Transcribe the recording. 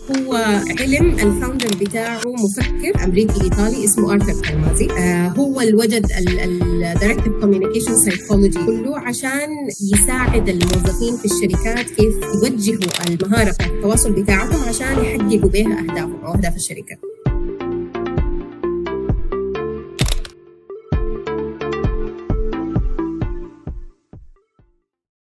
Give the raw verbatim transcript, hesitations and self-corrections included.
هو علم الفاوندر بتاعه مفكر أمريكي إيطالي اسمه آرثر كالمازي. آه هو الوجد الدايركتيف كوميونيكيشن سايكولوجي كله عشان يساعد الموظفين في الشركات كيف يوجهوا المهارة بتاعت التواصل بتاعتهم عشان يحققوا بها أهدافهم أو أهداف الشركة.